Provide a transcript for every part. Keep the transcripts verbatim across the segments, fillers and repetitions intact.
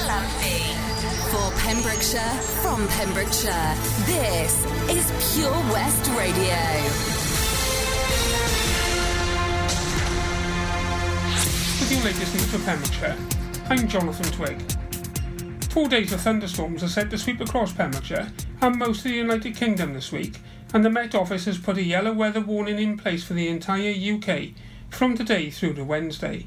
Northampton. For Pembrokeshire, from Pembrokeshire, this is Pure West Radio. With your latest news for Pembrokeshire, I'm Jonathan Twigg. Four days of thunderstorms are set to sweep across Pembrokeshire and most of the United Kingdom this week, and the Met Office has put a yellow weather warning in place for the entire U K from today through to Wednesday.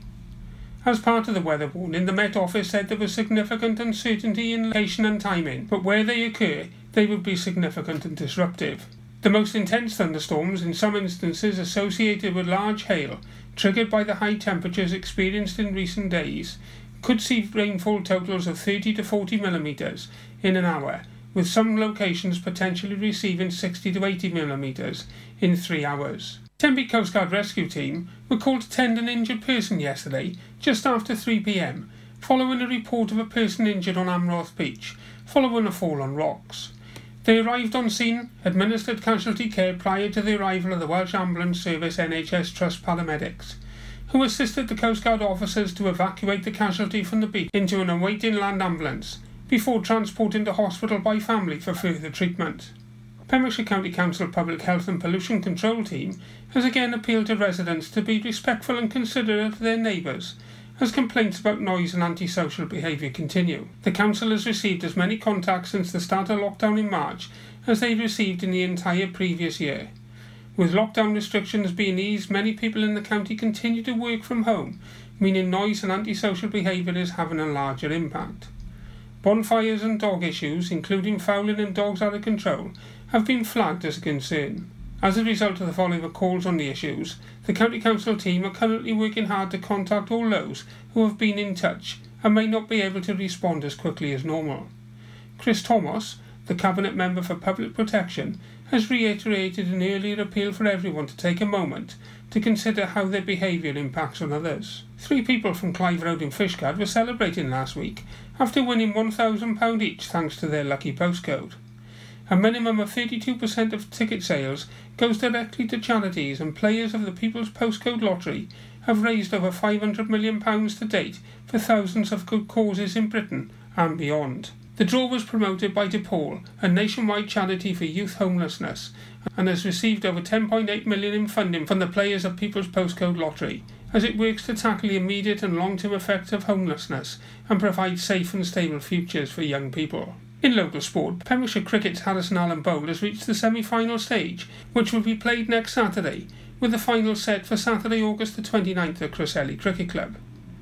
As part of the weather warning, the Met Office said there was significant uncertainty in location and timing, but where they occur, they would be significant and disruptive. The most intense thunderstorms, in some instances associated with large hail, triggered by the high temperatures experienced in recent days, could see rainfall totals of thirty to forty millimetres in an hour, with some locations potentially receiving sixty to eighty millimetres in three hours. Tenby Coast Guard Rescue Team were called to tend an injured person yesterday, just after three p m, following a report of a person injured on Amroth Beach, following a fall on rocks. They arrived on scene, administered casualty care prior to the arrival of the Welsh Ambulance Service N H S Trust paramedics, who assisted the Coast Guard officers to evacuate the casualty from the beach into an awaiting land ambulance, before transporting to hospital by family for further treatment. Pembrokeshire County Council Public Health and Pollution Control Team has again appealed to residents to be respectful and considerate of their neighbours, as complaints about noise and antisocial behaviour continue. The Council has received as many contacts since the start of lockdown in March as they received in the entire previous year. With lockdown restrictions being eased, many people in the county continue to work from home, meaning noise and antisocial behaviour is having a larger impact. Bonfires and dog issues, including fouling and dogs out of control, have been flagged as a concern. As a result of the following of calls on the issues, the County Council team are currently working hard to contact all those who have been in touch and may not be able to respond as quickly as normal. Chris Thomas, the Cabinet Member for Public Protection, has reiterated an earlier appeal for everyone to take a moment to consider how their behaviour impacts on others. Three people from Clive Road in Fishguard were celebrating last week after winning one thousand pounds each thanks to their lucky postcode. A minimum of thirty-two percent of ticket sales goes directly to charities, and players of the People's Postcode Lottery have raised over five hundred million pounds to date for thousands of good causes in Britain and beyond. The draw was promoted by DePaul, a nationwide charity for youth homelessness, and has received over ten point eight million pounds in funding from the players of People's Postcode Lottery, as it works to tackle the immediate and long-term effects of homelessness and provide safe and stable futures for young people. In local sport, Pembrokeshire Cricket's Harrison Allen Bowl has reached the semi-final stage, which will be played next Saturday, with the final set for Saturday, August the twenty-ninth at Crossley Cricket Club.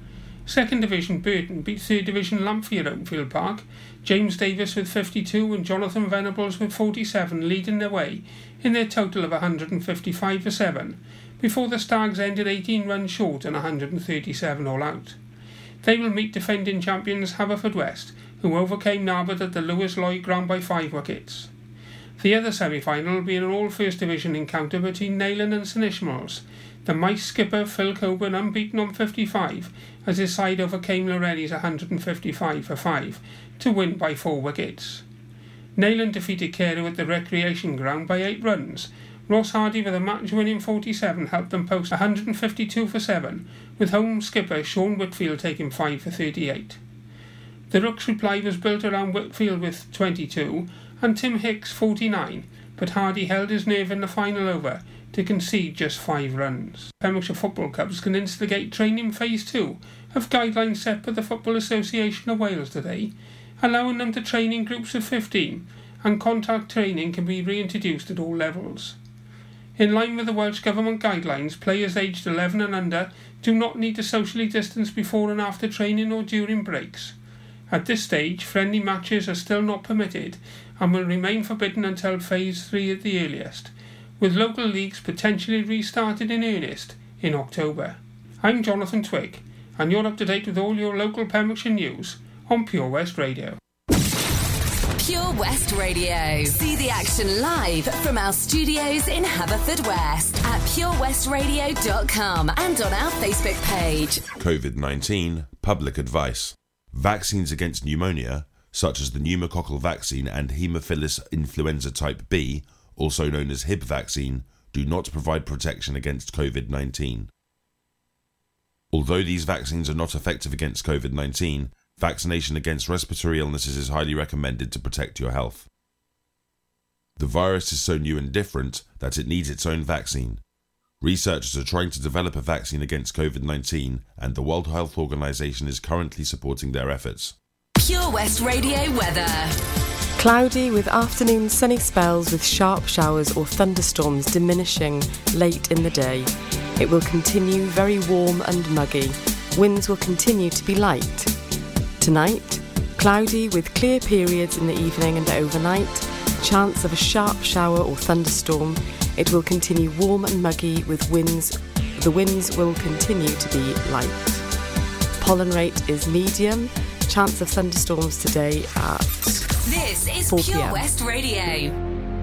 Second Division Burton beat Third Division Lamphere at Oakfield Park, James Davis with fifty-two and Jonathan Venables with forty-seven leading their way in their total of one hundred fifty-five for seven, before the Stags ended eighteen runs short and one hundred thirty-seven all out. They will meet defending champions Haverfordwest, who overcame Narbeth at the Lewis Lloyd ground by five wickets. The other semi-final will be an all-First Division encounter between Neyland and Saint Ishmaels. The Mice skipper Phil Coburn unbeaten on fifty-five as his side overcame Lorenni's one hundred fifty-five for five to win by four wickets. Neyland defeated Carew at the Recreation Ground by eight runs. Ross Hardy with a match-winning forty-seven helped them post one hundred fifty-two for seven, with home skipper Sean Whitfield taking five for thirty-eight. The Rooks' reply was built around Whitfield with twenty-two and Tim Hicks forty-nine, but Hardy held his nerve in the final over to concede just five runs. Pembrokeshire football clubs can instigate training phase two of guidelines set by the Football Association of Wales today, allowing them to train in groups of fifteen, and contact training can be reintroduced at all levels. In line with the Welsh Government guidelines, players aged eleven and under do not need to socially distance before and after training or during breaks. At this stage, friendly matches are still not permitted and will remain forbidden until phase three at the earliest, with local leagues potentially restarted in earnest in October. I'm Jonathan Twigg, and you're up to date with all your local Pembrokeshire news on Pure West Radio. Pure West Radio. See the action live from our studios in Haverfordwest at pure west radio dot com and on our Facebook page. COVID nineteen public advice. Vaccines against pneumonia, such as the pneumococcal vaccine and Haemophilus influenza type B, also known as H I B vaccine, do not provide protection against COVID nineteen. Although these vaccines are not effective against COVID nineteen, Vaccination against respiratory illnesses is highly recommended to protect your health. The virus is so new and different that it needs its own vaccine. Researchers are trying to develop a vaccine against covid nineteen, and the World Health Organization is currently supporting their efforts. Pure West Radio weather. Cloudy with afternoon sunny spells with sharp showers or thunderstorms diminishing late in the day. It will continue very warm and muggy. Winds will continue to be light. Tonight, cloudy with clear periods in the evening and overnight. Chance of a sharp shower or thunderstorm. It will continue warm and muggy with winds. The winds will continue to be light. Pollen rate is medium. Chance of thunderstorms today at This is four Pure p.m. West Radio.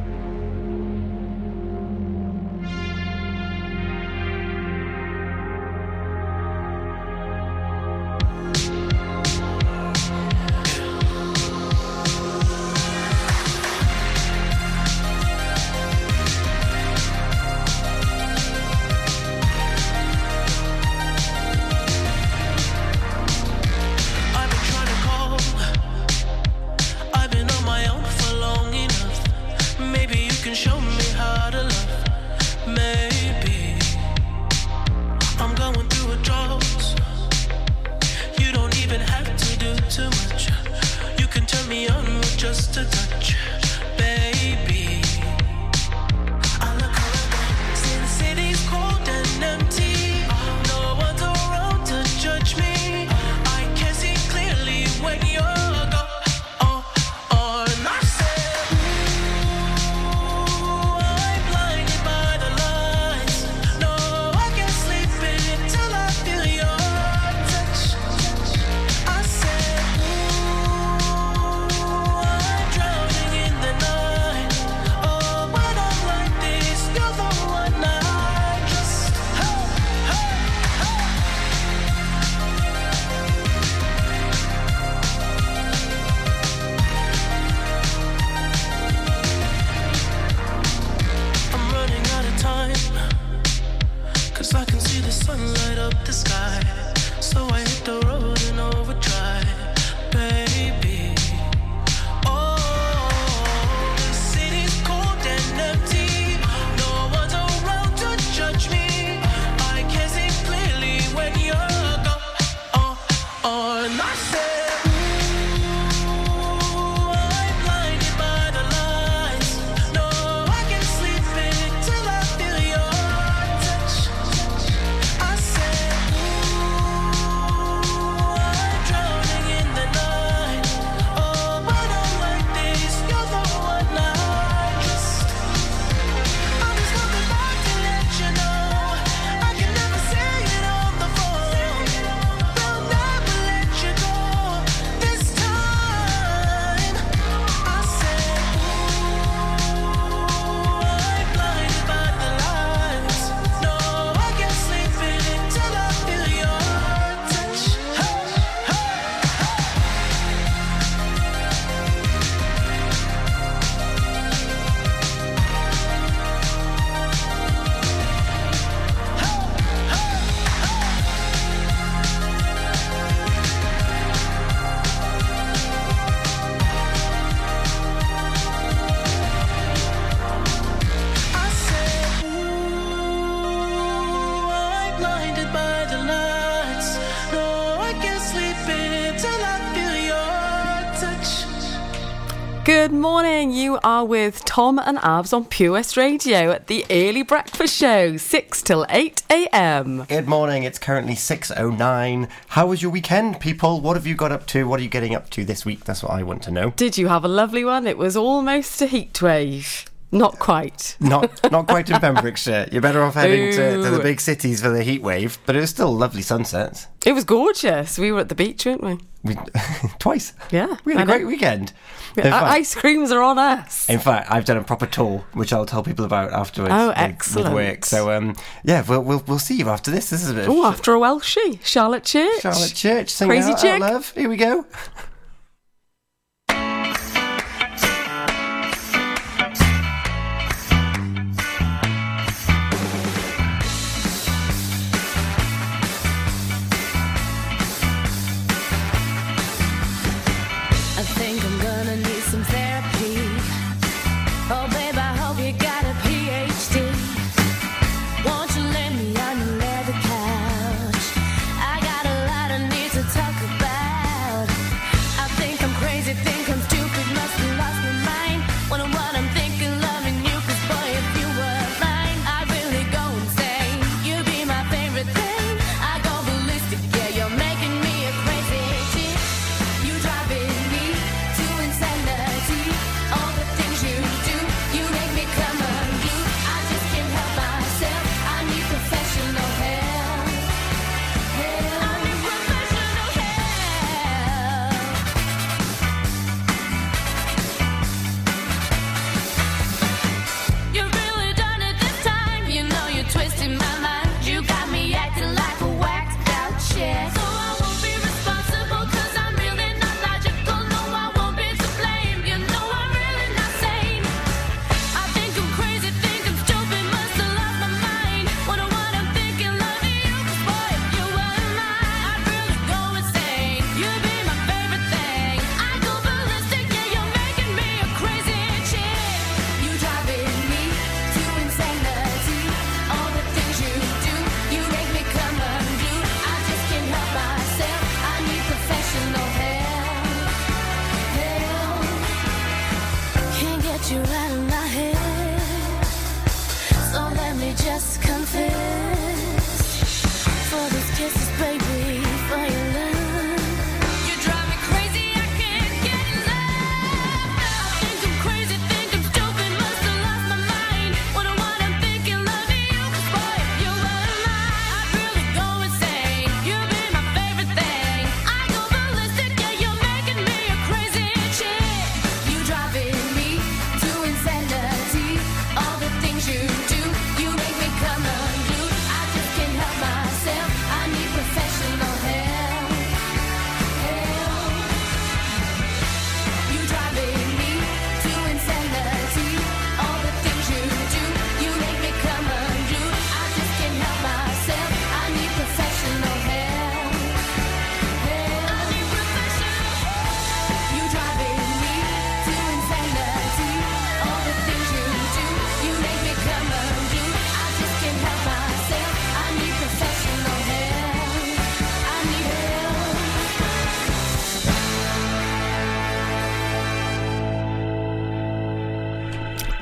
Good morning, you are with Tom and Abs on Pure West Radio at the Early Breakfast Show, six till eight a.m. Good morning, it's currently six oh nine. How was your weekend, people? What have you got up to? What are you getting up to this week? That's what I want to know. Did you have a lovely one? It was almost a heat wave. Not quite. Not not quite in Pembrokeshire. You're better off heading to, to the big cities for the heat wave, but it was still lovely sunsets. It was gorgeous. We were at the beach, weren't we? We twice. Yeah. We had I a great know. weekend. Uh, In fact, ice creams are on us. in fact, I've done a proper tour, which I'll tell people about afterwards. Oh, with, excellent. With work. So, um, yeah, we'll, we'll we'll see you after this. This is a bit Oh, of after a Welshie. Charlotte Church. Charlotte Church. Sing Crazy out, chick. out, love. Here we go.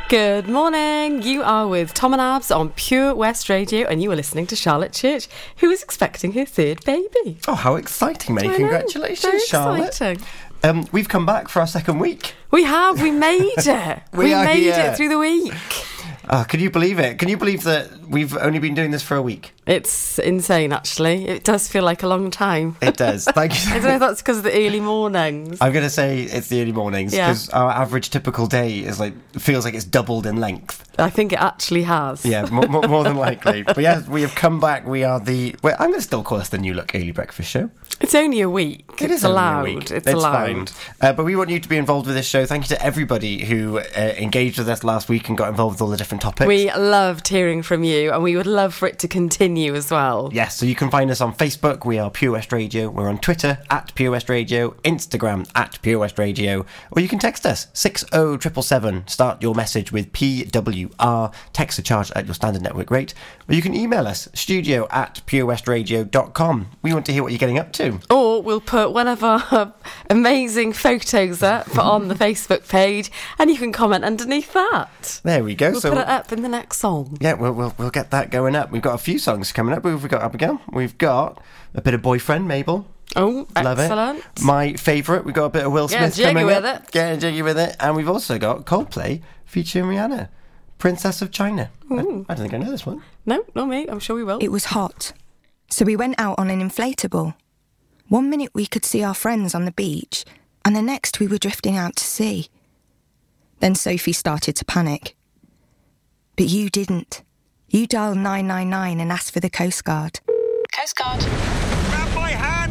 Good morning. You are with Tom and Abs on Pure West Radio, and you are listening to Charlotte Church, who is expecting her third baby. Oh, how exciting, mate. I know, Congratulations, very Charlotte. exciting. Um, we've come back for our second week. We have. We made it. We we are made here. it through the week. Oh, can you believe it? Can you believe that we've only been doing this for a week? It's insane, actually. It does feel like a long time. It does. Thank you. I don't know if that's because of the early mornings. I'm going to say it's the early mornings Yeah. because our average typical day is like feels like it's doubled in length. I think it actually has. Yeah, more, more, more than likely. But yeah, we have come back. We are the. Well, I'm going to still call us the New Look Early Breakfast Show. It's only a week. It it's is only a allowed. week. It's, It's allowed. fine. Uh, but we want you to be involved with this show. Thank you to everybody who uh, engaged with us last week and got involved with all the different topics. We loved hearing from you, and we would love for it to continue as well. Yes, so you can find us on Facebook. We are Pure West Radio. We're on Twitter at Pure West Radio, Instagram at Pure West Radio, or you can text us six oh seven seven seven. Start your message with P W R. Text a charge at your standard network rate, or you can email us studio at purewestradio dot com. We want to hear what you're getting up to. Or we'll put one of our amazing photos up on the Facebook page, and you can comment underneath that. There we go. We'll so put it up in the next song. yeah, we'll, we'll we'll get that going up. We've got a few songs coming up. Who have we got, Abigail? We've got a bit of Boyfriend, Mabel. Oh, Love excellent. it. My favourite, we've got a bit of Will Getting Smith jiggy coming with up. it. Getting jiggy with it. And we've also got Coldplay featuring Rihanna, Princess of China. I, I don't think I know this one. No, not me. I'm sure we will. It was hot, so we went out on an inflatable. One minute we could see our friends on the beach, and the next we were drifting out to sea. Then Sophie started to panic. But you didn't. You dialed nine nine nine and asked for the Coast Guard. Coast Guard. Grab my hand!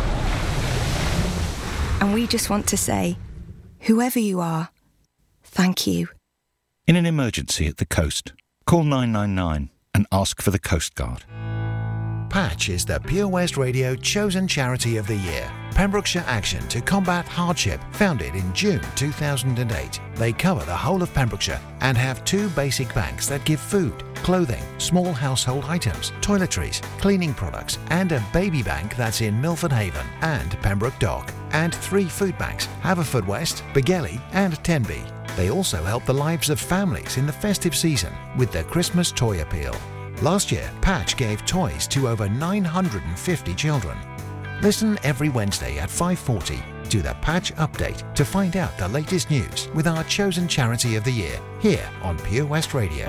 And we just want to say, whoever you are, thank you. In an emergency at the coast, call nine nine nine and ask for the Coast Guard. Patch is the Pure West Radio chosen charity of the year. Pembrokeshire Action to Combat Hardship, founded in June two thousand eight. They cover the whole of Pembrokeshire and have two basic banks that give food, clothing, small household items, toiletries, cleaning products, and a baby bank that's in Milford Haven and Pembroke Dock, and three food banks, Haverfordwest, Begelly and Tenby. They also help the lives of families in the festive season with their Christmas toy appeal. Last year, Patch gave toys to over nine hundred fifty children. Listen every Wednesday at five forty to the Patch Update to find out the latest news with our chosen charity of the year here on Pure West Radio.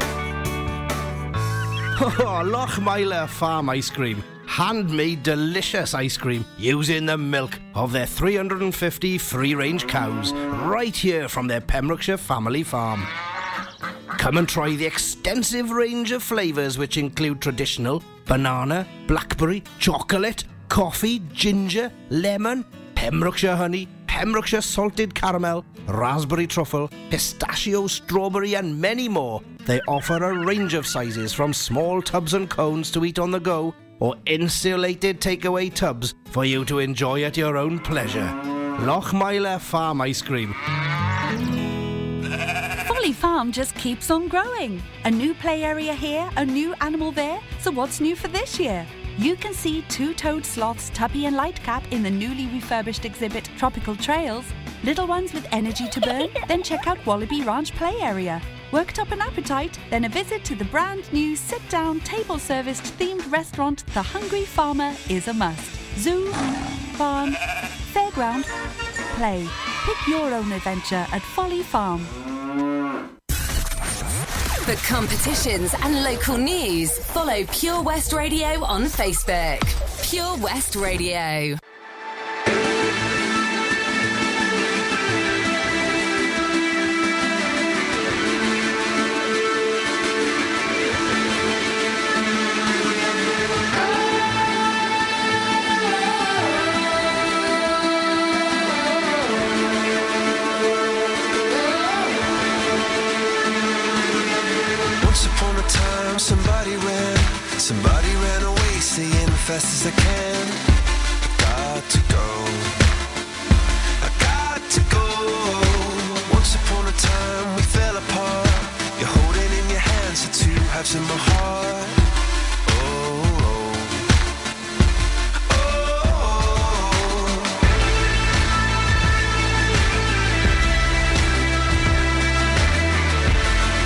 Oh, Lochmeyler Farm Ice Cream. Handmade delicious ice cream using the milk of their three hundred fifty free-range cows right here from their Pembrokeshire family farm. Come and try the extensive range of flavours which include traditional, banana, blackberry, chocolate, coffee, ginger, lemon, Pembrokeshire honey, Pembrokeshire salted caramel, raspberry truffle, pistachio, strawberry and many more. They offer a range of sizes from small tubs and cones to eat on the go or insulated takeaway tubs for you to enjoy at your own pleasure. Lochmeyler Farm Ice Cream. Folly Farm just keeps on growing. A new play area here, a new animal there. So what's new for this year? You can see two-toed sloths Tubby and Lightcap in the newly refurbished exhibit Tropical Trails. Little ones with energy to burn? Then check out Wallaby Ranch play area. Worked up an appetite? Then a visit to the brand new sit-down, table-serviced themed restaurant The Hungry Farmer is a must. Zoo, farm, fairground, play. Pick your own adventure at Folly Farm. For competitions and local news, follow Pure West Radio on Facebook. Pure West Radio. Somebody ran, somebody ran away, saying fast as I can. I got to go, I got to go. Once upon a time we fell apart. You're holding in your hands the two halves of my heart. Oh, oh, oh.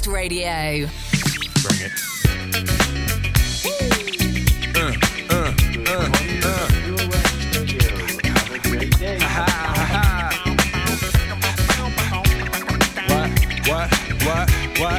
West Radio. Bring it. What, what, what?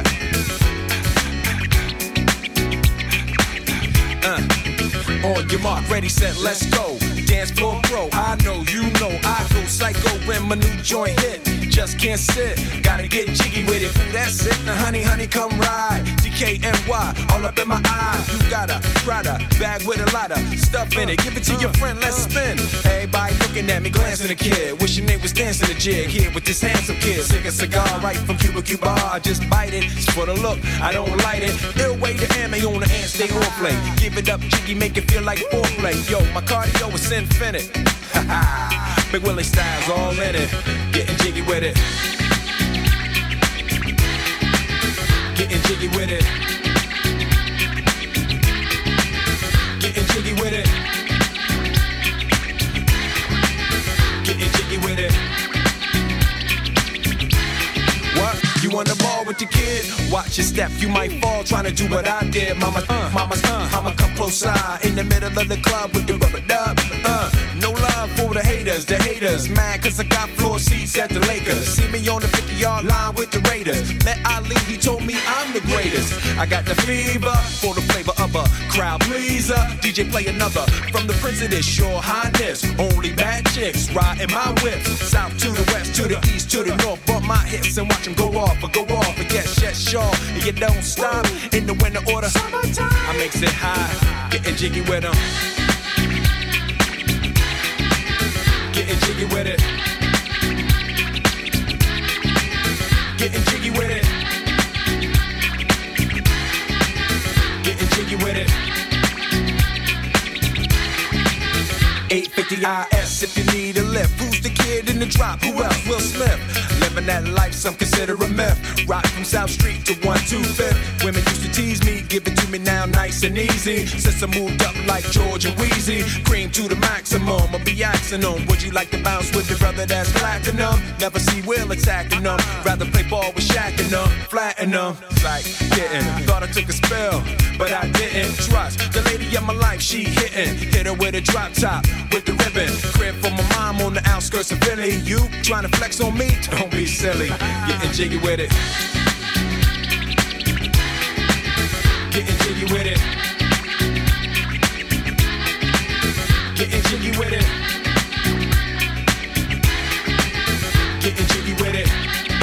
Uh, on your mark, ready, set, let's go. Dance floor pro, I know, you know, I go psycho when my new joint hit. Just can't sit, gotta get jiggy with it. Ooh, that's it, now honey, honey, come ride. D K N Y, all up in my eye. You got a Prada bag with a lot of stuff in it. Give it to your friend, let's spin. Everybody looking at me, glancing a kid. Wishing they was dancing a jig here with this handsome kid. Sick a cigar right from Cuba Cuba. I just bite it, it's for the look, I don't light it. Ill way to ammo on the hand, stay on play. Give it up, jiggy, make it feel like foreplay. Yo, my cardio is infinite. Ha ha, Big Willie style's all in it. Getting jiggy with it. Getting jiggy with it. Getting jiggy with it. Getting jiggy with it. What? You on the ball with your kid? Watch your step, you might fall trying to do what I did. Mama, uh, mama's, uh, I'ma come close side in the middle of the club with the rubber dub. Uh, no love for the haters, the haters. Mad cause I got floor seats at the Lakers. See me on the fifty-yard line with the Raiders. Met Ali, he told me I'm the greatest. I got the fever for the flavor of a crowd pleaser. D J play another from the Prince of this Your Highness. Only bad chicks riding my whip. South to the west, to the east, to the north. Bump my hips and watch them go off or go off. And yes, yes, sure. And you don't stop in the winter order. Summertime. I makes it high, getting jiggy with them. Getting jiggy with it. Getting jiggy with it. Getting jiggy with it. eight fifty I S if you need a lift. Who's the kid in the drop? Who else? Will Smith. Living that life, some consider a myth. Rock from South Street to one two fifth. Women used to tease me, give it to me now nice and easy. Since I moved up like George and Wheezy, cream to the maximum, I'll be axing them. Would you like to bounce with your brother that's platinum? Never see Will attacking them. Rather play ball with Shaq and them, flatten them. Like getting, thought I took a spill, but I didn't. Trust the lady of my life, she hitting. Hit her with a drop top, with the ribbon. Crib for my mom on the outskirts of Philly. You trying to flex on me? Don't be silly. Getting jiggy with it. Getting jiggy with it. Getting jiggy with it. Getting jiggy with it.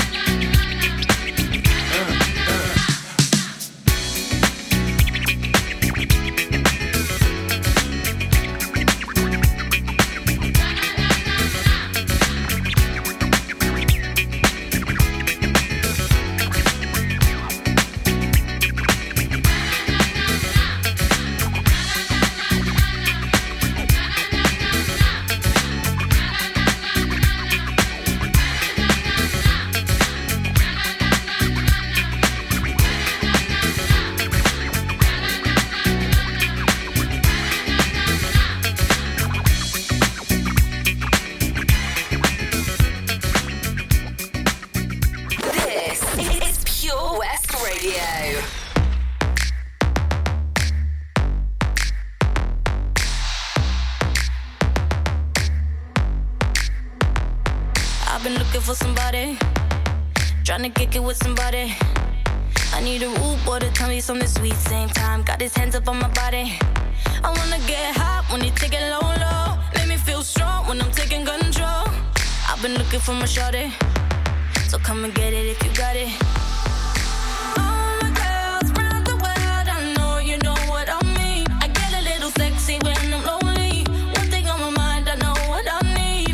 For somebody, trying to kick it with somebody. I need a rude boy to tell me something sweet. Same time, got his hands up on my body. I wanna get hot when you take it low, low. Make me feel strong when I'm taking control. I've been looking for my shorty, so come and get it if you got it. All my girls round the world, I know you know what I mean. I get a little sexy when I'm lonely. One thing on my mind, I know what I need.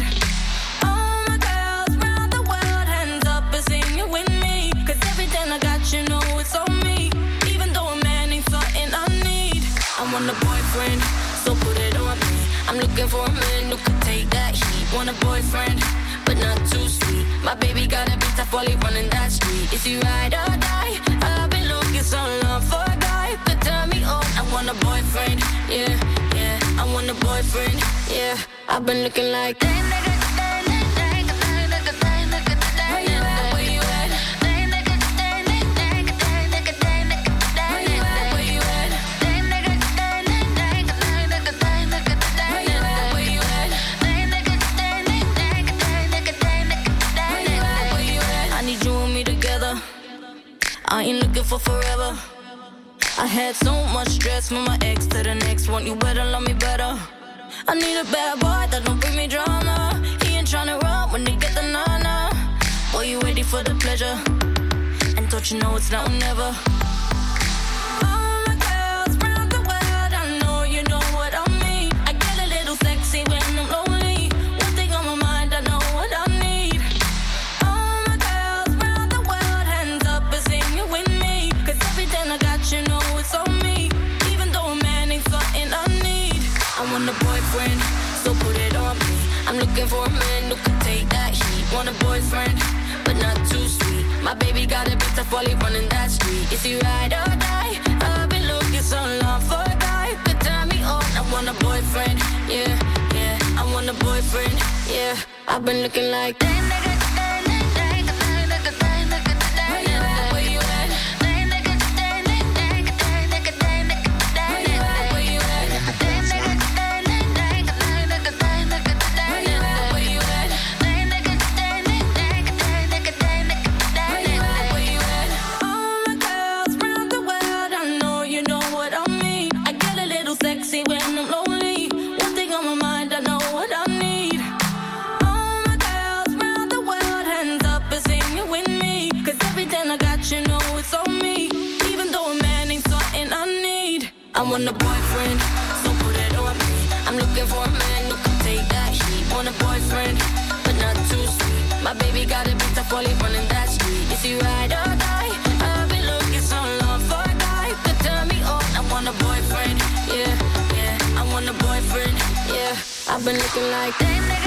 I got you, know it's on me. Even though a man ain't something I need. I want a boyfriend, so put it on me. I'm looking for a man who can take that heat. Want a boyfriend, but not too sweet. My baby got a beat tough while he running that street. Is he ride or die? I've been looking so long for a guy who could turn me on. I want a boyfriend, yeah, yeah. I want a boyfriend, yeah. I've been looking like that. Where you at, where you at? you for forever. I had so much stress from my ex to the next one. You better love me better. I need a bad boy that don't bring me drama. He ain't tryna run when they get the nana. Boy, you ready for the pleasure? And don't you know it's now or never? All my girls round the world, I know you know what I mean. I get a little sexy when I'm lonely. One thing on my mind, I know what I need. All my girls round the world, hands up and sing it with me. Cause everything I got, you know it's on me. Even though a man ain't something I need. I want a boyfriend, so put it on me. I'm looking for a man who can take that heat. Want a boyfriend, but not too sweet. My baby got a bit tough while he running that street. Is he ride or die? I've been looking so long for a guy could turn me on. I want a boyfriend, yeah, yeah. I want a boyfriend, yeah. I've been looking like that nigga. I want a boyfriend, so put it on me. I'm looking for a man who can take that heat. Want a boyfriend, but not too sweet. My baby got a bit tough while he running that street. Is he ride or die? I've been looking so long for a guy who could turn me on. I want a boyfriend, yeah, yeah. I want a boyfriend, yeah. I've been looking like that nigga.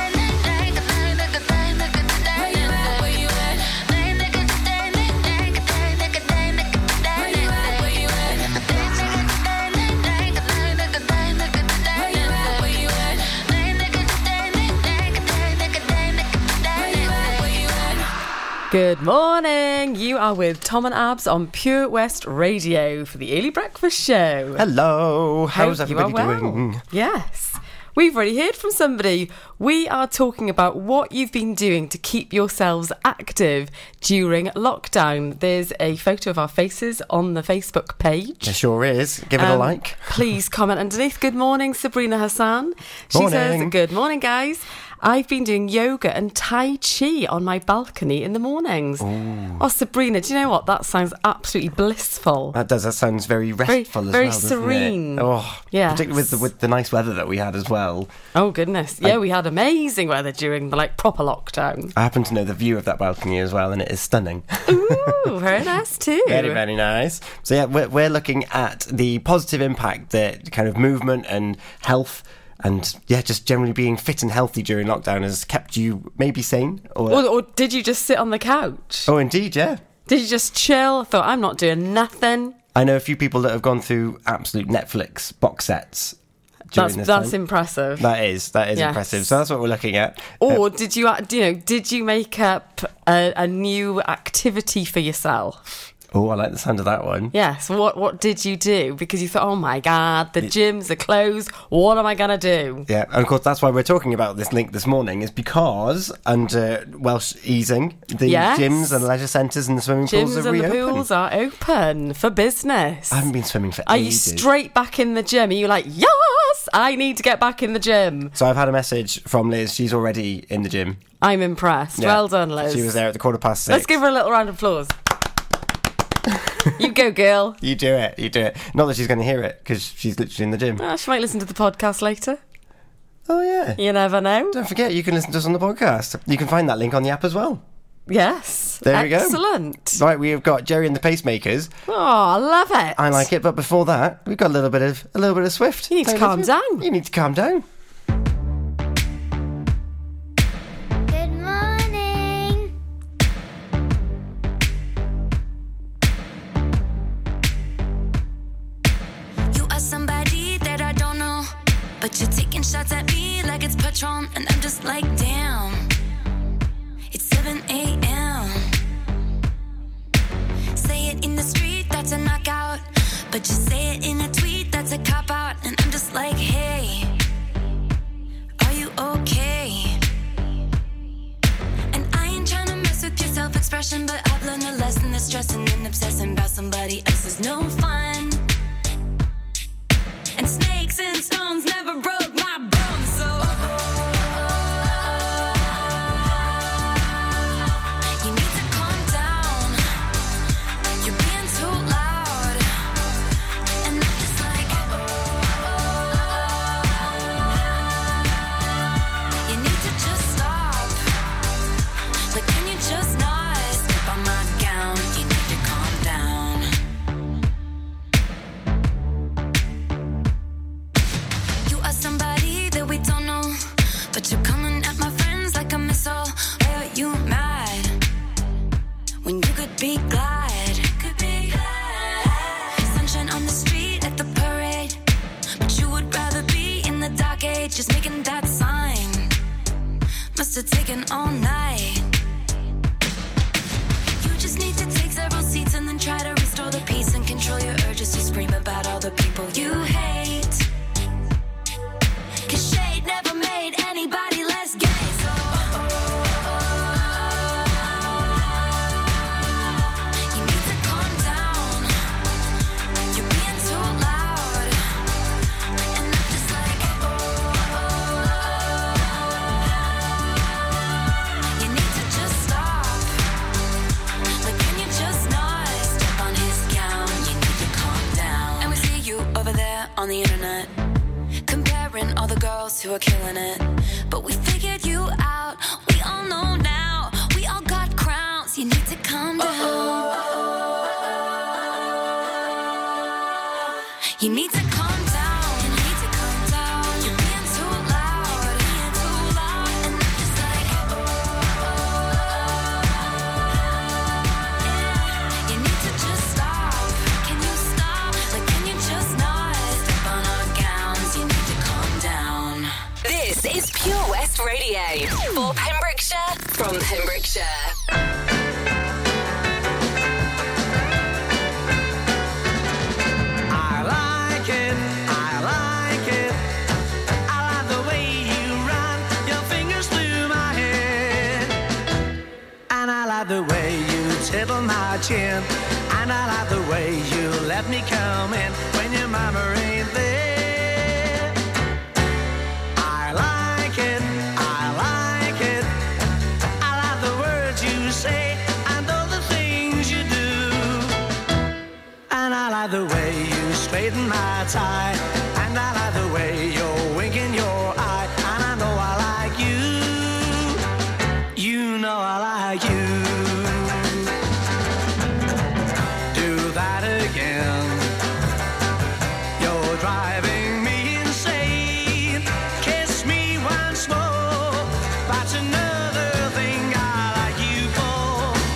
Good morning. You are with Tom and Abs on Pure West Radio for the Early Breakfast Show. Hello. How's Hope everybody you are well. doing? Yes. We've already heard from somebody. We are talking about what you've been doing to keep yourselves active during lockdown. There's a photo of our faces on the Facebook page. There sure is. Give it Um, a like. Please comment underneath. Good morning, Sabrina Hassan. She Morning. says, good morning, guys. I've been doing yoga and Tai Chi on my balcony in the mornings. Ooh. Oh, Sabrina, do you know what? That sounds absolutely blissful. That does. That sounds very Very- restful as very well, doesn't serene. it? Oh, Yes. particularly with the, with the nice weather that we had as well. Oh, goodness. Yeah, I- we had amazing weather during the like proper lockdown. I happen to know the view of that balcony as well, and it is stunning. Ooh, very nice too. Very, very nice. So yeah, we're, we're looking at the positive impact that kind of movement and health and yeah, just generally being fit and healthy during lockdown has kept you maybe sane. Or, Or, or did you just sit on the couch? oh, indeed, yeah. Did you just chill? Thought, I'm not doing nothing. I know a few people that have gone through absolute Netflix box sets during That's this that's time. impressive. That is, that is Yes. impressive. So that's what we're looking at. Or Uh, did you, act- you know, did you make up a, a new activity for yourself? oh, I like the sound of that one. Yes. What What did you do? Because you thought, oh my God, the gyms are closed. What am I gonna do? Yeah, and of course that's why we're talking about this link this morning, is because under Welsh easing, the Yes. gyms and leisure centres and the swimming pools Gyms are and the reopened. pools are open for business. I haven't been swimming for Are you ages. straight back in the gym? Are you like, yes, I need to get back in the gym? So I've had a message from Liz. She's already in the gym. I'm impressed. Yeah. Well done, Liz. She was there at the quarter past six. Let's give her a little round of applause. You go, girl. You do it. You do it. Not that she's going to hear it, because she's literally in the gym. Oh, she might listen to the podcast later. Oh, yeah. You never know. Don't forget, you can listen to us on the podcast. You can find that link on the app as well. Yes. There we go. Excellent. Right, we have got Jerry and the Pacemakers. Oh, I love it. I like it, but before that, we've got a little bit of a little bit of Swift. You need to Taylor calm Swift. down. You need to calm down. Good morning. You are somebody that I don't know, but you're taking shots at me like it's Patron, and I'm just like, damn. It's seven a.m. Say it in the street, that's a knockout, but you say it in a tweet, that's a cop-out, and I'm just like, hey, are you okay? And I ain't tryna mess with your self-expression. expression, but I've learned a lesson that stressing and obsessing about somebody else is no fun. And snakes and stones never broke my bones, so you need to calm down. You're being too loud, and I'm just like, you need to just stop. Like, can you just not step on my gown? You need to calm down. You are somebody that we don't know, but you're coming at my friends like a missile. Why are you mad when you could be glad? Could be glad. Sunshine on the street at the parade, but you would rather be in the dark age, just making that sign. Must have taken all night. You just need to take several seats and then try to restore the peace and control your urges to scream about all the people you hate. 'Cause shade never made anybody less gay, so you need to calm down. You're being too loud, and I'm just like, you need to just stop. Like, can you just not step on his gown? You need to calm down. And we see you over there on the internet, comparing all the girls who are killing it. But we figured you out. We all know now. We all got crowns. You need to calm down. You need to calm down. You need to calm down. You're being too loud. You're being too loud. And I'm just like, yeah. You need to just stop. Can you stop? Like, can you just not step on our gowns? You need to calm down. This is Pure West Radio for Pembrokeshire from Pembrokeshire. I like it, I like it. I like the way you run your fingers through my hair. And I like the way you tickle my chin. And I like the way you let me come in when your mama ain't there. I like it, I like it. I like the words you say and all the things you do. And I like the way you straighten my tie. And I like the way you're winking your eye. And I know I like you. You know I like you. Do that again. You're driving me insane. Kiss me once more. That's another thing I like you for.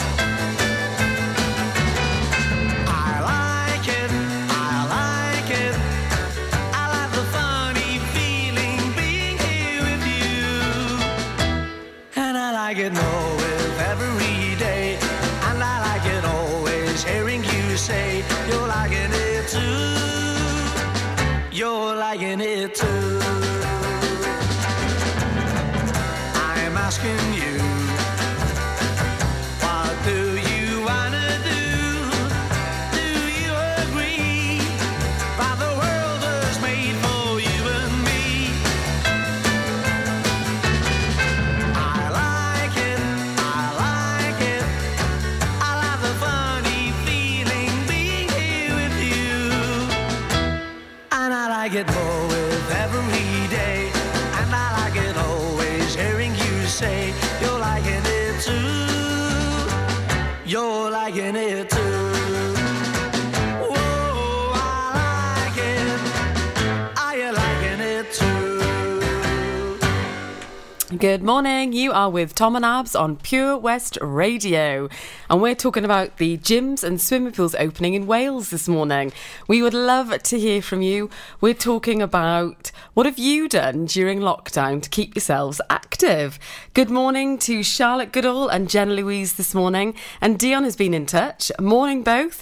I like it, I like it. I like the funny feeling being here with you. And I like it more with every day. And I like it always hearing you say you're liking it too. You're liking it too. I'm asking you, what do you wanna do? Do you agree that the world was made for you and me? I like it, I like it. I like the funny feeling being here with you. And I like it more with every day. And I like it always hearing you say you're liking it too. You're liking it too. Whoa, I like it. Are you liking it too? Good morning. You are with Tom and Abs on Pure West Radio. And we're talking about the gyms and swimming pools opening in Wales this morning. We would love to hear from you. We're talking about what have you done during lockdown to keep yourselves active. Good morning to Charlotte Goodall and Jen Louise this morning. And Dion has been in touch. Morning both.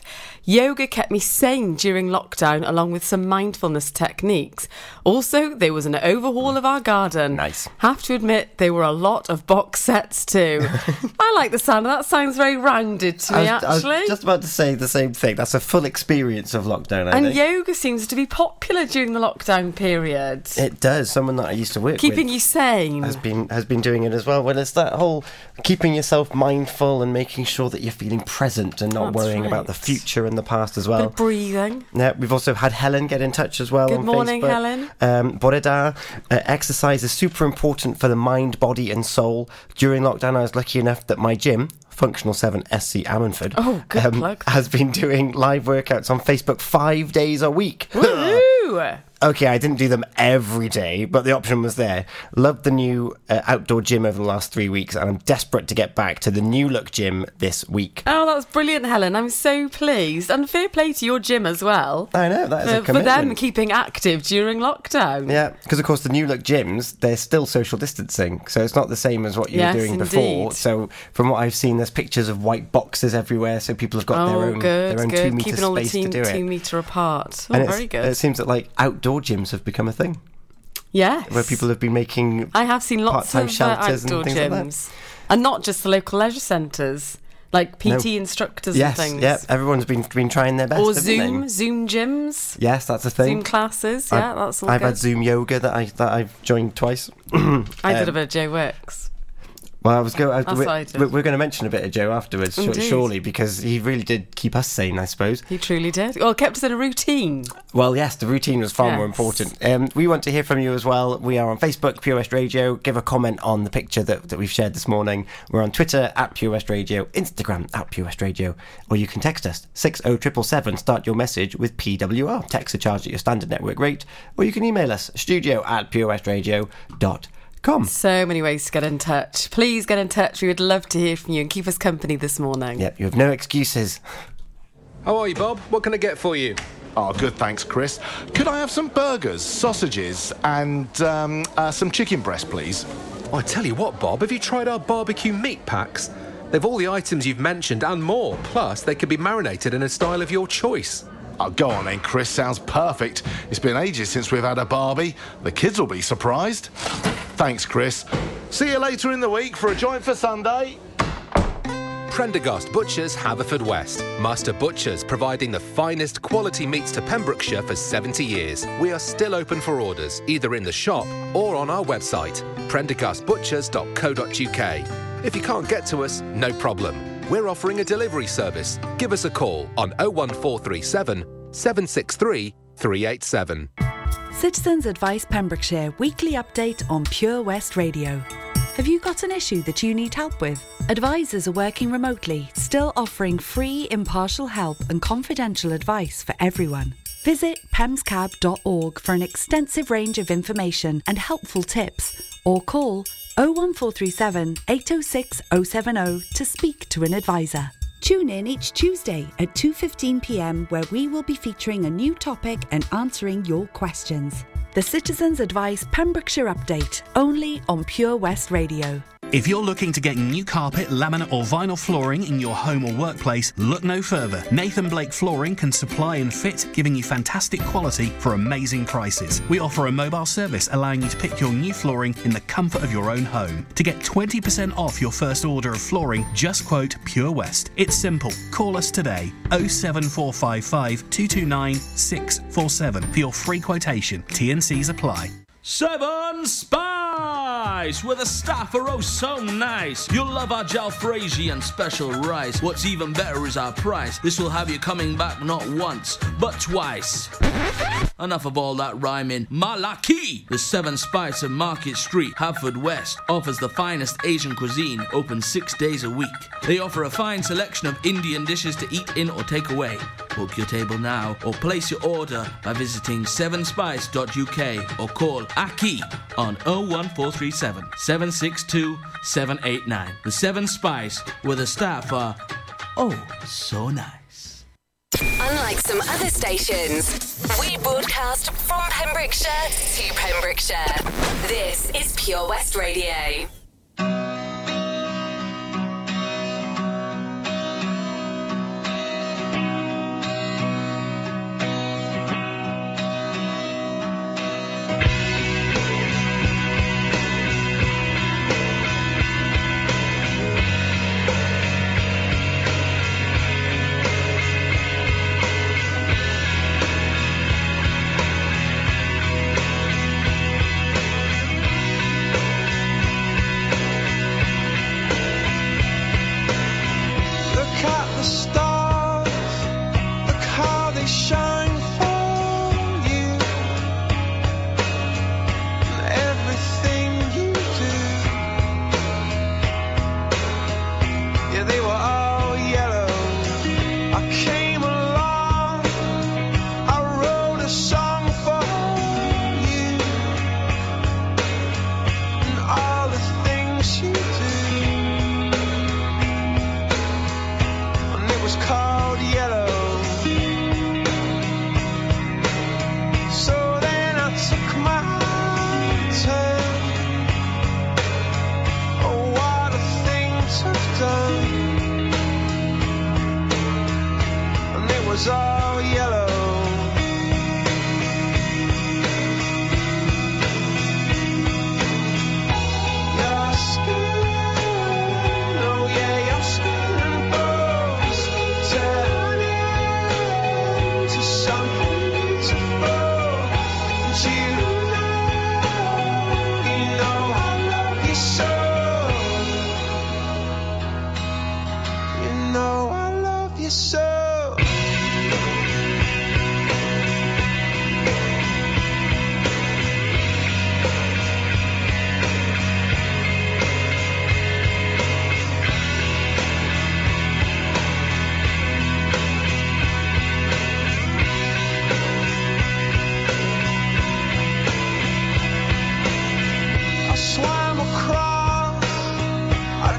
Yoga kept me sane during lockdown, along with some mindfulness techniques. Also, there was an overhaul of our garden. Nice. Have to admit, there were a lot of box sets too. I like the sound of that. Sounds very rounded to me, I was, actually. I was just about to say the same thing. That's a full experience of lockdown, I and think. yoga seems to be popular during the lockdown period. It does. Someone that I used to work Keeping with you sane. has been has been doing it as well. Well, it's that whole keeping yourself mindful and making sure that you're feeling present and not That's worrying right. about the future and the past as Bit well. of breathing. Yeah, we've also had Helen get in touch as well. Good on morning, Facebook. Helen. Um, Boreda, uh, exercise is super important for the mind, body, and soul. During lockdown, I was lucky enough that my gym, Functional seven S C Ammanford, Oh, good um, plug. has been doing live workouts on Facebook five days a week. Woohoo! Okay, I didn't do them every day, but the option was there. Loved the new uh, outdoor gym over the last three weeks, and I'm desperate to get back to the new look gym this week. Oh, that was brilliant, Helen. I'm so pleased. And fair play to your gym as well. I know, that is a for, for commitment. them keeping active during lockdown. Yeah, because of course the new look gyms, they're still social distancing, so it's not the same as what you Yes, were doing indeed. before. So from what I've seen, there's pictures of white boxes everywhere, so people have got Oh, their own good, their own good. two meter Keeping all the space team, to do two it. metre apart. Oh, and it's- very good. It seems that like outdoor gyms have become a thing, Yes. where people have been making I have seen lots part-time of uh, shelters outdoor and things like that. gyms. And not just the local leisure centres, like P T No. instructors Yes, and things. yeah, everyone's been been trying their best. Or haven't they? Zoom, Zoom gyms. Yes, that's a thing. Zoom classes, yeah, I've, that's all I've good. had Zoom yoga that I that I've joined twice. I did a Um, bit of Joe Works. Well, I was going. That's We're, what I did. we're, we're going to mention a bit of Joe afterwards, sh- Indeed. surely, because he really did keep us sane, I suppose. He truly did. Well, kept us in a routine. Well, yes, the routine was far more Yes. important. Um, we want to hear from you as well. We are on Facebook, Pure West Radio. Give a comment on the picture that, that we've shared this morning. We're on Twitter at Pure West Radio, Instagram at Pure West Radio, or you can text us six oh seven seven. Start your message with P W R. Text are charged at your standard network rate, or you can email us studio at purewestradio dot com. So many ways to get in touch. Please get in touch. We would love to hear from you and keep us company this morning. Yep, you have no excuses. How are you, Bob? What can I get for you? Oh, good, thanks, Chris. Could I have some burgers, sausages, and um, uh, some chicken breast, please? Oh, I tell you what, Bob, have you tried our barbecue meat packs? They've all the items you've mentioned and more. Plus, they can be marinated in a style of your choice. Oh, go on then, Chris. Sounds perfect. It's been ages since we've had a barbie. The kids will be surprised. Thanks, Chris. See you later in the week for a joint for Sunday. Prendergast Butchers, Haverfordwest. Master Butchers, providing the finest quality meats to Pembrokeshire for seventy years. We are still open for orders, either in the shop or on our website, prendergast butchers dot co dot uk. If you can't get to us, no problem. We're offering a delivery service. Give us a call on oh one four three seven, seven six three, three eight seven. Citizens Advice Pembrokeshire weekly update on Pure West Radio. Have you got an issue that you need help with? Advisors are working remotely, still offering free, impartial help and confidential advice for everyone. Visit pemscab dot org for an extensive range of information and helpful tips, or call oh one four three seven, eight oh six, oh seven oh to speak to an advisor. Tune in each Tuesday at two fifteen p m where we will be featuring a new topic and answering your questions. The Citizens Advice Pembrokeshire Update, only on Pure West Radio. If you're looking to get new carpet, laminate or vinyl flooring in your home or workplace, look no further. Nathan Blake Flooring can supply and fit, giving you fantastic quality for amazing prices. We offer a mobile service allowing you to pick your new flooring in the comfort of your own home. To get twenty percent off your first order of flooring, just quote Pure West. It's simple. Call us today, oh seven four five five, two two nine, six four seven for your free quotation. T and C's apply. Seven Spice, where the staff are oh so nice. You'll love our jalfrezi and special rice. What's even better is our price. This will have you coming back not once, but twice. Enough of all that rhyming. Malaki! The Seven Spice of Market Street, Haverfordwest, offers the finest Asian cuisine, open six days a week. They offer a fine selection of Indian dishes to eat in or take away. Book your table now or place your order by visiting seven spice dot u k or call Aki on oh one four three seven, seven six two, seven eight nine. The Seven Spice, where the staff are oh so nice. Unlike some other stations, we broadcast from Pembrokeshire to Pembrokeshire. This is Pure West Radio.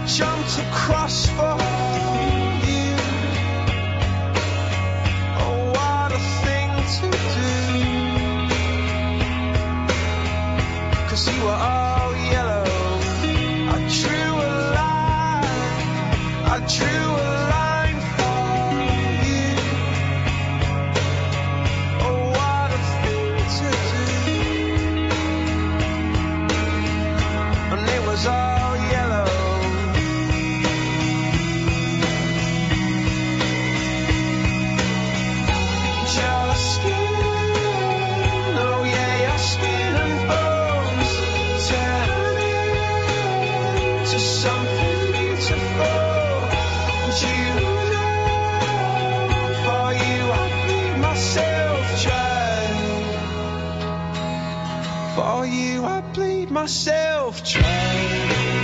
jumped across for you. Oh, what a thing to do. 'Cause you were all yellow. I drew a line, I drew a line for you. Oh, what a thing to do. And it was all yellow. Your skin, oh yeah, your skin and bones turning to something beautiful. And you know, for you I bleed myself dry. For you I bleed myself dry.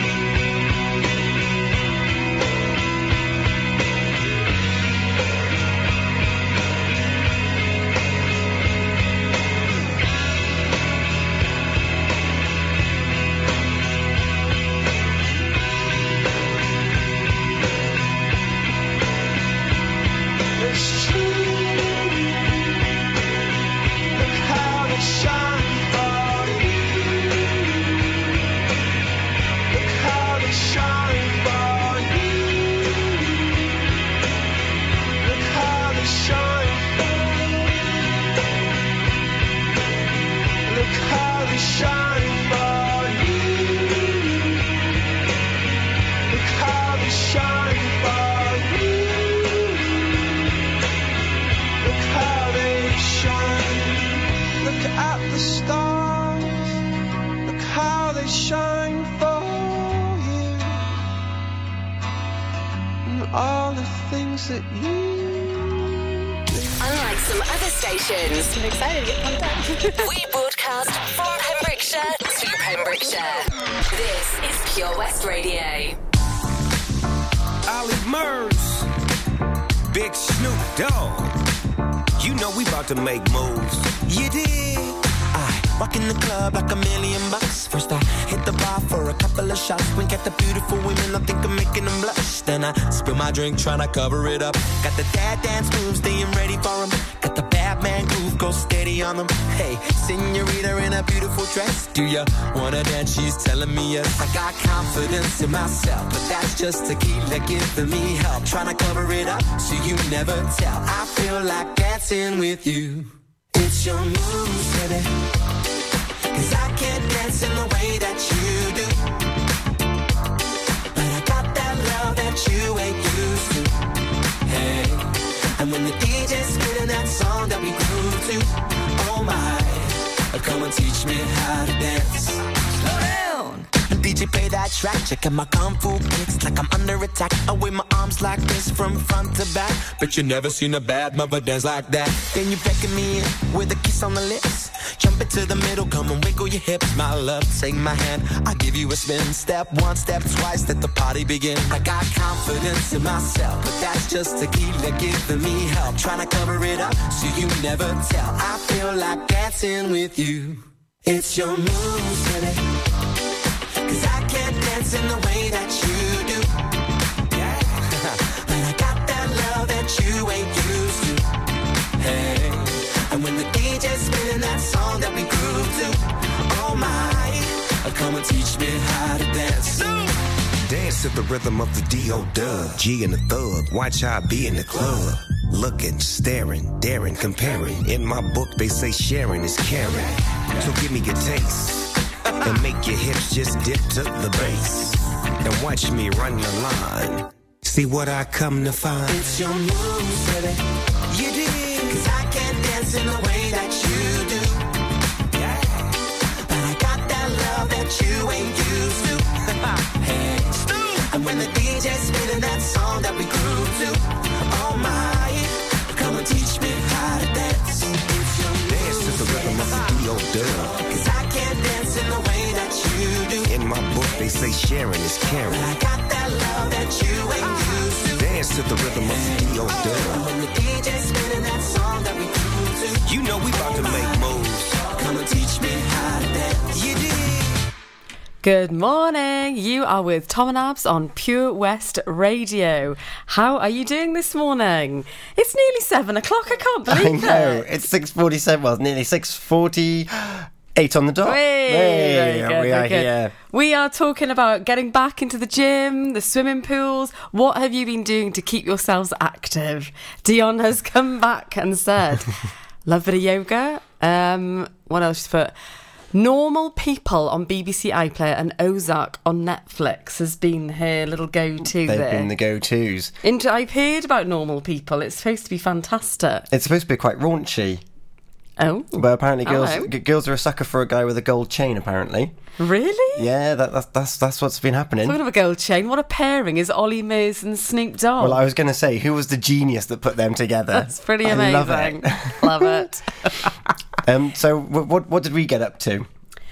It's true. Look how they shine for you. Look how they shine for you. Look how they shine for you. Look how they shine for you. Look how they shine for you. Look how they shine. Look at the stars. Look how they shine for you. And all the things that you Unlike some other stations, I'm excited to get pumped up. We broadcast from Pembrokeshire to Pembrokeshire. This is Pure West Radio. Ollie Murs, Big Snoop Dogg. You know we about to make moves. You dig? I walk in the club like a million bucks. First I hit the bar for a couple of shots. Wink at the beautiful women, I think I'm making them blush. Then I spill my drink, tryna cover it up. Got the dad dance moves, staying ready for them. Got the bad man groove, go steady on them. Hey, senorita in a beautiful dress. Do ya wanna dance? She's telling me yes. I got confidence in myself, but that's just tequila giving me help. Tryna cover it up so you never tell. I feel like dancing with you. It's your moves, baby. 'Cause I can't dance in the way that you do. But I got that love that you ain't used to. Hey, and when the D J's spinning that song that we grew to, oh my, come and teach me how to dance. Slow down. D J play that track, check out my kung fu kicks like I'm under attack. I wave my arms like this from front to back. Bet you never seen a bad mother dance like that. Then you beckon me in with a kiss on the lips. Jump into the middle, come and wiggle your hips. My love, take my hand, I'll give you a spin. Step one, step twice, let the party begin. I got confidence in myself, but that's just tequila giving me help. Trying to cover it up so you never tell. I feel like dancing with you. It's your moves, baby. 'Cause I can't dance in the way that you do. Yeah. But I got that love that you ain't used to. Hey, and when the D J's spinning that song that we grew to, oh my, come and teach me how to dance. Dance to the rhythm of the D O Dub. G and the Thug, watch how I be in the club. Looking, staring, daring, comparing. In my book they say sharing is caring. So give me your taste. And make your hips just dip to the bass. And watch me run the line. See what I come to find. It's your moves, baby. You did. 'Cause I can't dance in the way that you do. Yeah. But I got that love that you ain't used to. Hey. And when the D J's spinning that song that we grew to, oh my, come and teach me how to dance. Dance to the rhythm of the D O Dub. 'Cause I can't dance in the way that you do. In my book they say sharing is caring. But I got that love that you ain't used to. Dance to the rhythm of the D O Dub. When the D J's spinning that song that we grew to, you know we about to make moves. Come and teach me how to dance. You did. Good morning. You are with Tom and Abs on Pure West Radio. How are you doing this morning? It's nearly seven o'clock. I can't believe I know. it. It's six forty-seven. Well, nearly six forty-eight on the dot. Hey, Hey, very good, we very are good. here. We are talking about getting back into the gym, the swimming pools. What have you been doing to keep yourselves active? Dion has come back and said, love a bit of yoga. Um, what else she's put? Normal People on B B C iPlayer and Ozark on Netflix has been her little go-to They've there. been the go-tos. Into, I've heard about Normal People. It's supposed to be fantastic. It's supposed to be quite raunchy. Oh. But apparently girls Hello. g- girls are a sucker for a guy with a gold chain, apparently. Really? Yeah, that, that's, that's that's what's been happening. Talking of a gold chain, what a pairing is Ollie Murs and Snoop Dogg. Well, I was going to say, who was the genius that put them together? That's pretty I amazing. love it. Love it. um, so, w- what what did we get up to?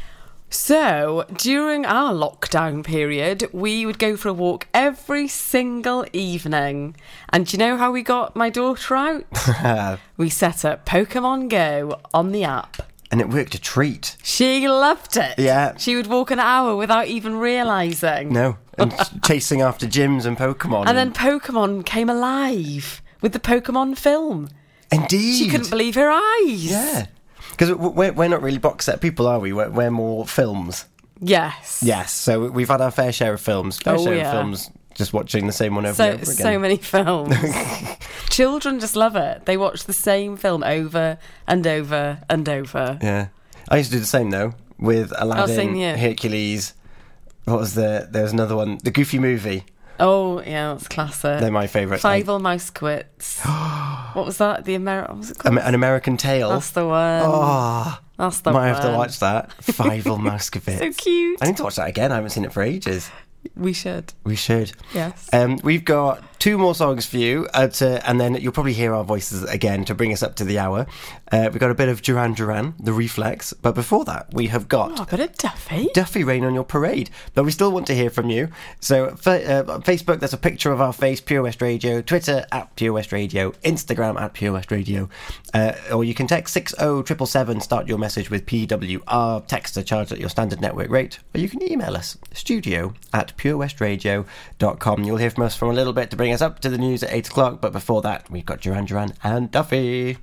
So, during our lockdown period, we would go for a walk every single evening. And do you know how we got my daughter out? We set up Pokemon Go on the app. And it worked a treat. She loved it. Yeah. She would walk an hour without even realising. No, and chasing after gyms and Pokemon. And then Pokemon came alive with the Pokemon film. Indeed. She couldn't believe her eyes. Yeah. Because we're, we're not really box set people, are we? We're, we're more films. Yes. Yes, so we've had our fair share of films. Fair Oh, share yeah. of films, just watching the same one over So, and over again. so many films. Children just love it. They watch the same film over and over and over. Yeah. I used to do the same, though, with Aladdin, same here. Hercules. What was the... There was another one. The Goofy Movie. Oh, yeah, that's classic. They're my favourite. Five All Mouse Quits. What was that? The Ameri- what was it called? Am- An American Tale. That's the one. Oh, That's the might one. have to watch that. Five All Moscovitz. So cute. I need to watch that again. I haven't seen it for ages. We should. We should. Yes. Um, we've got two more songs for you, uh, to, and then you'll probably hear our voices again to bring us up to the hour. Uh, we've got a bit of Duran Duran, The Reflex, but before that, we have got Oh, a bit of Duffy. Duffy Rain on Your Parade. But we still want to hear from you. So, fa- uh, Facebook, there's a picture of our face, Pure West Radio. Twitter, at Pure West Radio. Instagram, at Pure West Radio. Uh, or you can text six oh seven seven seven, start your message with P W R, text to charge at your standard network rate. Or you can email us, studio at purewestradio dot com. You'll hear from us from a little bit to bring us up to the news at eight o'clock. But before that, we've got Duran Duran and Duffy.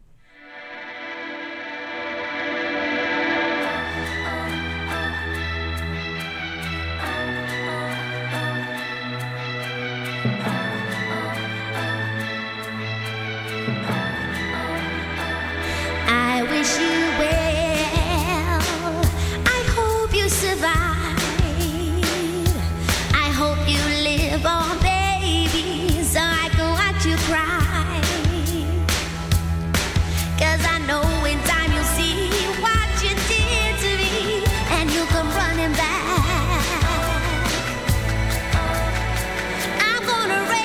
I wish you well. I hope you survive. I hope you live on, baby, so I can watch you cry. 'Cause I know in time you'll see what you did to me, and you'll come running back. I'm gonna raise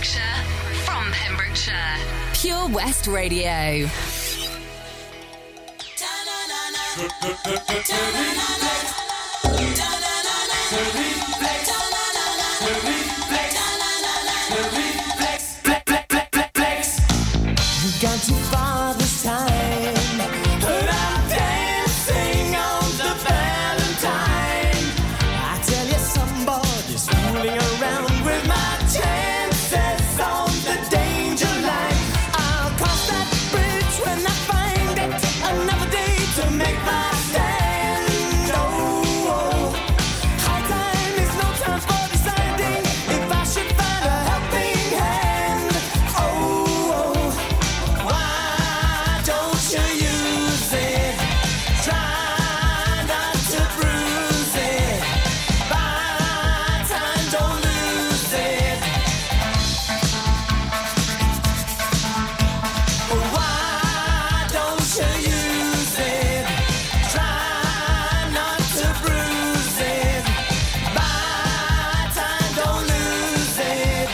Pembrokeshire, from Pembrokeshire. Pure West Radio. You've gone too far this time, but I'm dancing on the Valentine. I tell you, somebody's fooling around with my chances on the danger line. I'll cross that bridge when I find it. Another day to make my stand. Oh, oh. High time is no time for deciding if I should find a helping hand. Oh, oh. Why don't you use it? Try not to bruise it. Buy time, don't lose it. Why don't you use it? Try not to bruise it. Buy time, don't lose it.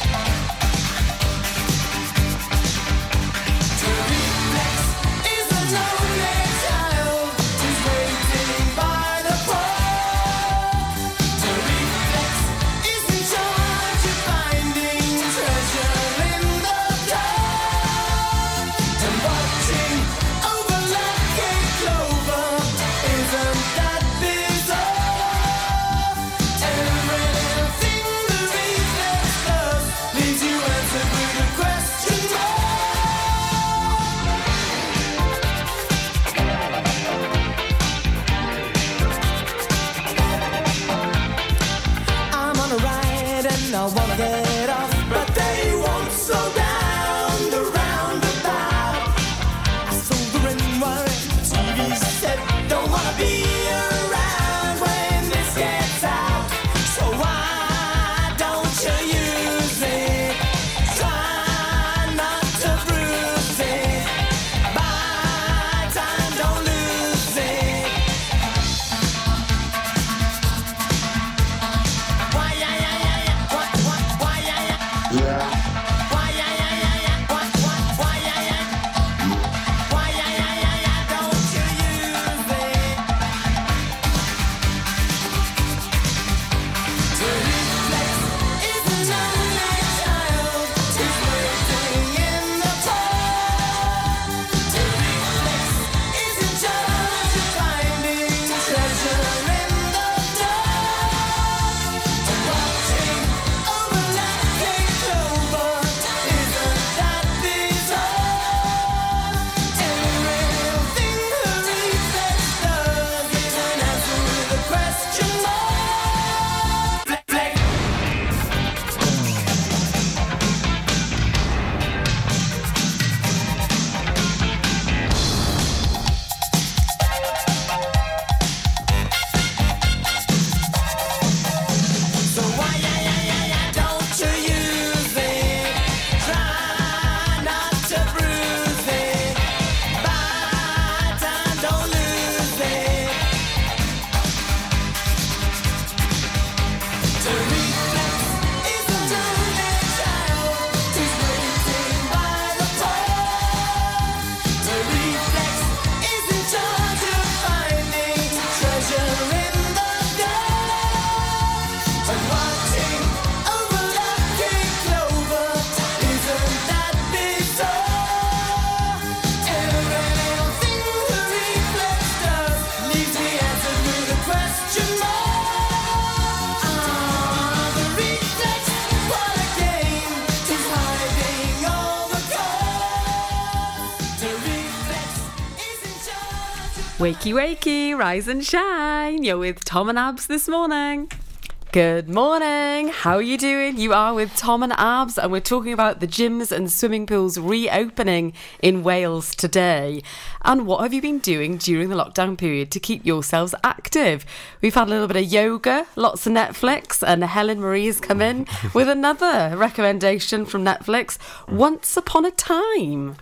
Reflex is a lonely child who's waiting by the pole. Reflex is in charge of finding treasure in the dark. And watching over lucky clover, isn't that bizarre? Everything the reflex does leaves you answered with a question mark. I'm on a ride and I wanna get off, but they won't slow down the roundabout. I sold the ring wire, the T V said, don't wanna be around when this gets out. So why don't you use it? Try not to bruise it. Buy time, don't lose it. Why, yeah, yeah, yeah, yeah. Why, why, why, yeah, yeah. Why, yeah, yeah, yeah, yeah. Why, why, why, yeah, yeah. Why, yeah, yeah, yeah, yeah. Don't you use it? To reflex is a lonely child who's waiting in the cold. To reflex is in charge of finding treasure in the dark. And watching over lucky clover, isn't that bizarre? Everything the reflex does is an answer with a question mark. Flex, flex. So why, yeah, yeah, yeah, yeah, don't you use it? Try not to bruise it. Buy time, don't lose it. To reflex is a lonely child who's waiting by the pole. To reflex is in charge of finding treasure in the dark. And watching over lucky clover, isn't that bizarre? Everything the reflex does leaves me answered with a question mark. Ah, the reflex, what a game, is hiding all the cards. The reflex is in charge of Wakey, wakey, rise and shine. You're with Tom and Abs this morning. Good morning. How are you doing? You are with Tom and Abs, and we're talking about the gyms and swimming pools reopening in Wales today. And what have you been doing during the lockdown period to keep yourselves active? We've had a little bit of yoga, lots of Netflix, and Helen Marie has come in with another recommendation from Netflix, Once Upon a Time.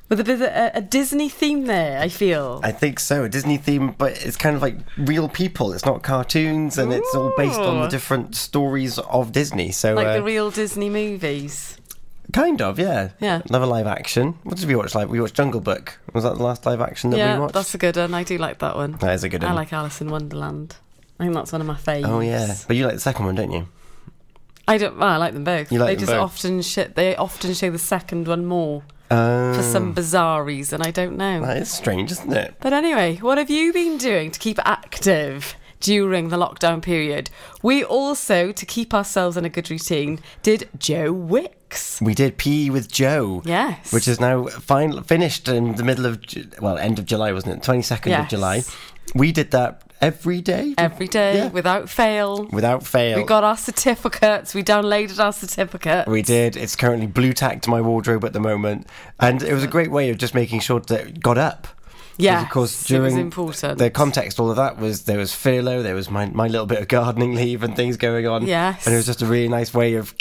With a bit of a, a Disney theme there, I feel. I think so, a Disney theme, but it's kind of like real people. It's not cartoons, and Ooh. It's all based on the different stories of Disney. So like uh, the real Disney movies. Kind of, yeah. Yeah. Another live action. What did we watch? Like we watched Jungle Book. Was that the last live action that yeah, we watched? Yeah, that's a good one. I do like that one. That is a good one. I like Alice in Wonderland. I think that's one of my favourites. Oh yeah, but you like the second one, don't you? I don't. Well, I like them both. You like they them just both? often sh- They often show the second one more. Um, for some bizarre reason, I don't know. That is strange, isn't it? But anyway, what have you been doing to keep active during the lockdown period? We also, to keep ourselves in a good routine, did Joe Wicks. We did P E with Joe. Yes. Which is now fin- finished in the middle of, Ju- well, end of July, wasn't it? twenty-second yes. of July. We did that every day. Every day, yeah. without fail. Without fail. We got our certificates. We downloaded our certificate. We did. It's currently blue tacked to my wardrobe at the moment. And it was a great way of just making sure that it got up. Yeah, of course, during it was important. The context, all of that was there was furlough, there was my my little bit of gardening leave and things going on. Yes, and it was just a really nice way of